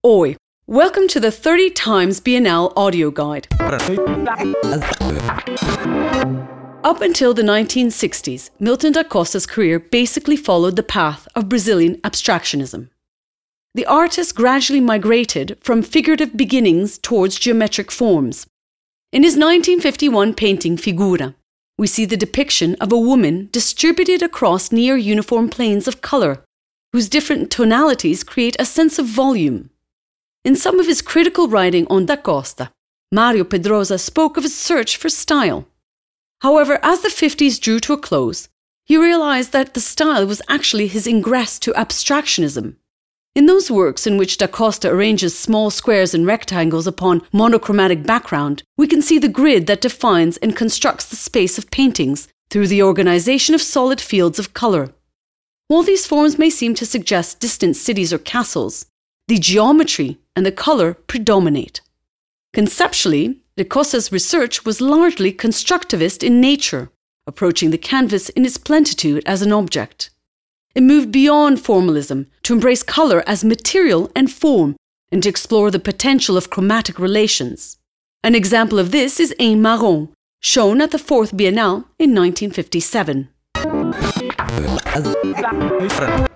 Oi! Welcome to the 30 Times Bienal audio guide. Up until the 1960s, Milton da Costa's career basically followed the path of Brazilian abstractionism. The artist gradually migrated from figurative beginnings towards geometric forms. In his 1951 painting Figura, we see the depiction of a woman distributed across near uniform planes of colour, whose different tonalities create a sense of volume. In some of his critical writing on da Costa, Mario Pedrosa spoke of his search for style. However, as the 50s drew to a close, he realised that the style was actually his ingress to abstractionism. In those works in which da Costa arranges small squares and rectangles upon monochromatic background, we can see the grid that defines and constructs the space of paintings through the organisation of solid fields of colour. While these forms may seem to suggest distant cities or castles, the geometry and the colour predominate. Conceptually, da Costa's research was largely constructivist in nature, approaching the canvas in its plenitude as an object. It moved beyond formalism to embrace colour as material and form and to explore the potential of chromatic relations. An example of this is Un Marron, shown at the 4th Biennale in 1957.